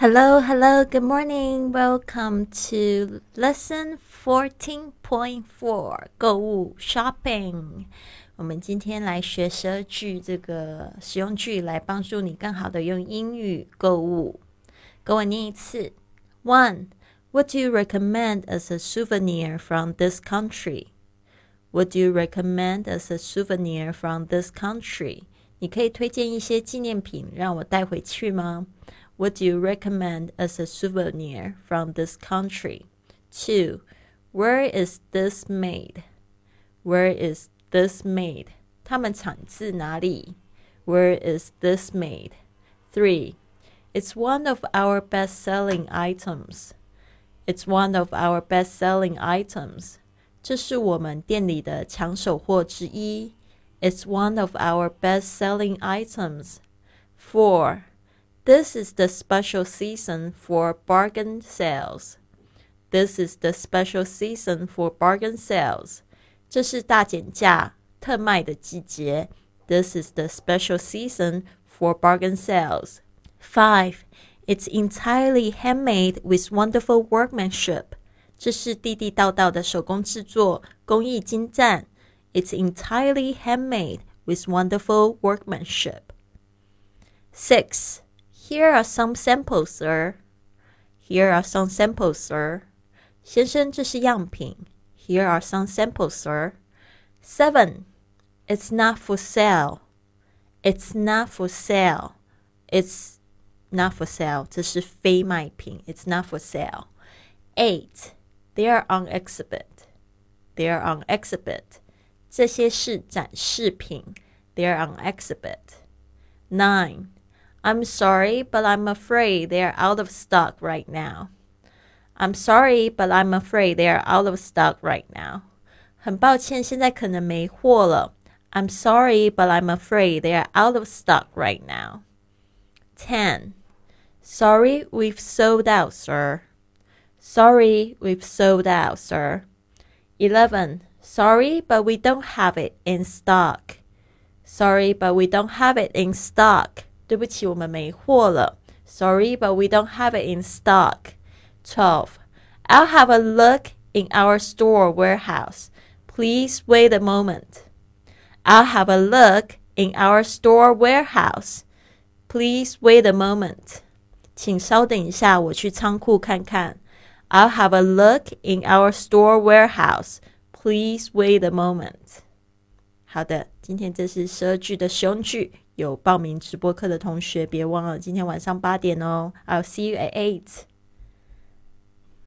Hello, good morning. Welcome to lesson 14.4购物 shopping. 我们今天来学12句这个实用句，来帮助你更好的用英语购物。跟我念一次。1. What do you recommend as a souvenir from this country? What do you recommend as a souvenir from this country? 你可以推荐一些纪念品让我带回去吗？What do you recommend as a souvenir from this country? 2. Where is this made? Where is this made? 它们产自哪里？ Where is this made? 3. It's one of our best-selling items. It's one of our best-selling items. 这是我们店里的抢手货之一。It's one of our best-selling items. 4.This is the special season for bargain sales. This is the special season for bargain sales. 这是大减价、特卖的季节。This is the special season for bargain sales. 5. It's entirely handmade with wonderful workmanship. 这是地地道道的手工制作，工艺精湛。It's entirely handmade with wonderful workmanship. 6.Here are some samples, sir. Here are some samples, sir. 先生，这是样品。Here are some samples, sir. 7. It's not for sale. It's not for sale. It's not for sale. 这是非卖品。It's not for sale. 8. They are on exhibit. They are on exhibit. 这些是展示品。They are on exhibit. 9.I'm sorry, but I'm afraid they are out of stock right now. I'm sorry, but I'm afraid they are out of stock right now. 很抱歉，现在可能没货了。I'm sorry, but I'm afraid they are out of stock right now. 10. Sorry, we've sold out, sir. Sorry, we've sold out, sir. 11. Sorry, but we don't have it in stock. Sorry, but we don't have it in stock.对不起，我们没货了。Sorry, but we don't have it in stock. 12. I'll have a look in our store warehouse. Please wait a moment. I'll have a look in our store warehouse. Please wait a moment. 请稍等一下，我去仓库看看。I'll have a look in our store warehouse. Please wait a moment. 好的，今天这是12句的实用句。有报名直播课的同学别忘了今天晚上8点哦。I'll see you at 8.